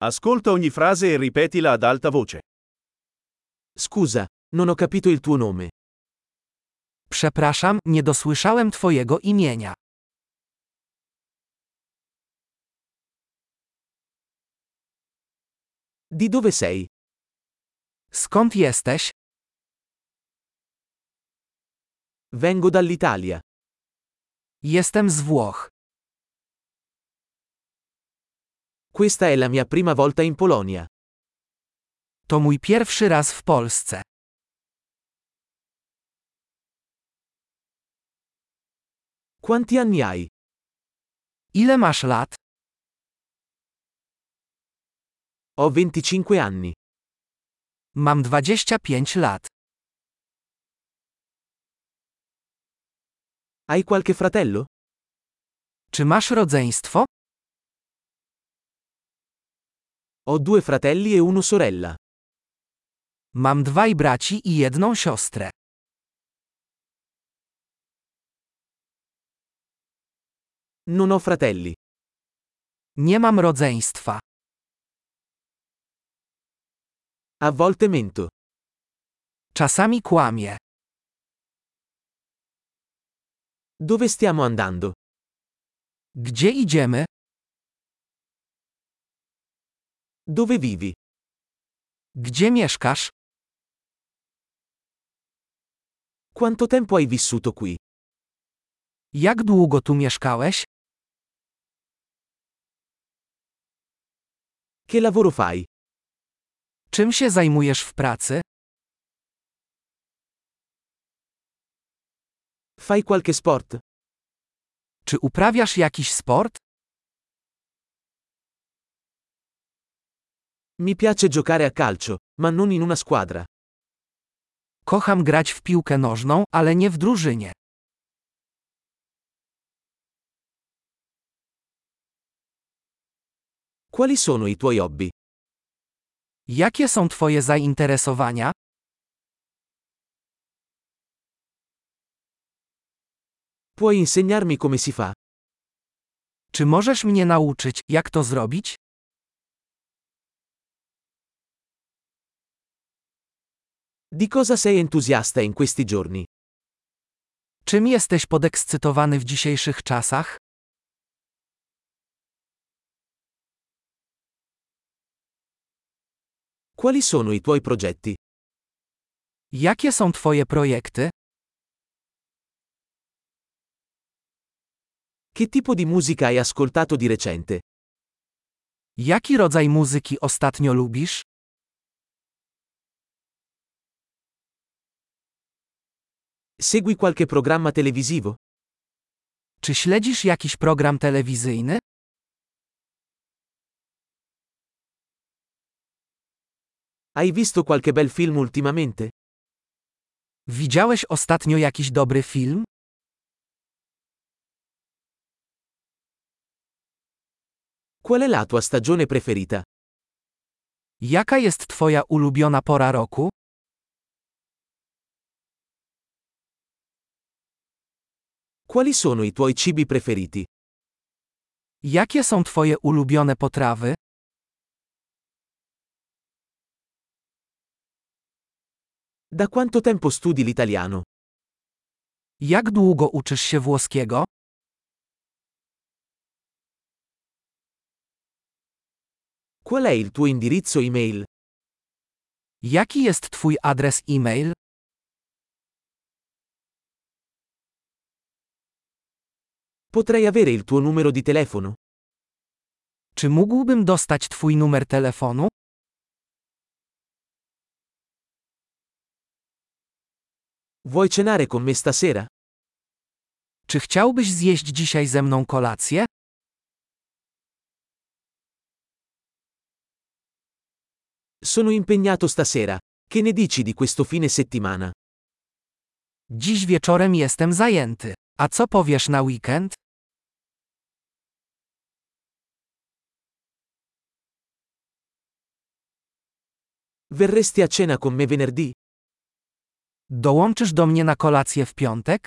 Ascolta ogni frase e ripetila ad alta voce. Scusa, non ho capito il tuo nome. Przepraszam, nie dosłyszałem twojego imienia. Di dove sei? Skąd jesteś? Vengo dall'Italia. Jestem z Włoch. Questa è la mia prima volta in Polonia. To mój pierwszy raz w Polsce. Quanti anni hai? Ile masz lat? Ho 25 anni. Mam 25 lat. Hai qualche fratello? Czy masz rodzeństwo? Ho 2 fratelli e una sorella. Mam 2 braci i 1 siostrę. Non ho fratelli. Nie mam rodzeństwa. A volte mento. Czasami kłamię. Dove stiamo andando? Gdzie idziemy? Dove vivi? Gdzie mieszkasz? Quanto tempo hai vissuto qui? Jak długo tu mieszkałeś? Che lavoro fai? Czym się zajmujesz w pracy? Fai qualche sport? Czy uprawiasz jakiś sport? Mi piace giocare a calcio, ma non in una squadra. Kocham grać w piłkę nożną, ale nie w drużynie. Quali sono i tuoi hobby? Jakie są twoje zainteresowania? Puoi insegnarmi come si fa? Czy możesz mnie nauczyć, jak to zrobić? Di cosa sei entusiasta in questi giorni? Czym jesteś podekscytowany w dzisiejszych czasach? Quali sono i tuoi progetti? Jakie są twoje projekty? Che tipo di musica hai ascoltato di recente? Jaki rodzaj muzyki ostatnio lubisz? Segui qualche programma televisivo? Czy śledzisz jakiś program telewizyjny? Hai visto qualche bel film ultimamente? Widziałeś ostatnio jakiś dobry film? Qual è la tua stagione preferita? Jaka jest twoja ulubiona pora roku? Quali sono i tuoi cibi preferiti? Jakie są twoje ulubione potrawy? Da quanto tempo studi l'italiano? Jak długo uczysz się włoskiego? Qual è il tuo indirizzo email? Jaki jest twój adres e-mail? Potrei avere il tuo numero di telefono? Czy mógłbym dostać twój numer telefonu? Vuoi cenare con me stasera? Czy chciałbyś zjeść dzisiaj ze mną kolację? Sono impegnato stasera. Che ne dici di questo fine settimana? Dziś wieczorem jestem zajęty. A co powiesz na weekend? Verresti a cena con me venerdì? Dołączysz do mnie na kolację w piątek?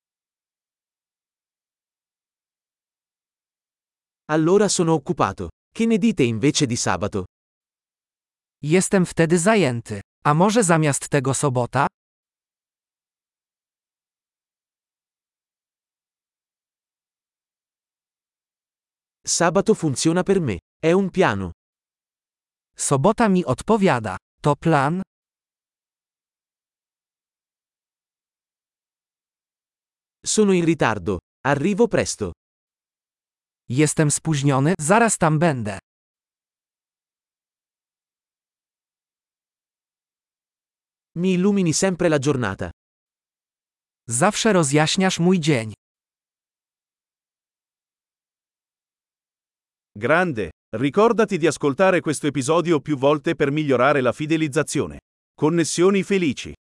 Allora sono occupato. Che ne dite invece di sabato? Jestem wtedy zajęty. A może zamiast tego sobota? Sabato funziona per me. È un piano. Sobota mi odpowiada. To plan? Sono in ritardo. Arrivo presto. Jestem spóźniony, zaraz tam będę. Mi illumini sempre la giornata. Zawsze rozjaśniasz mój dzień. Grande! Ricordati di ascoltare questo episodio più volte per migliorare la fidelizzazione. Connessioni felici.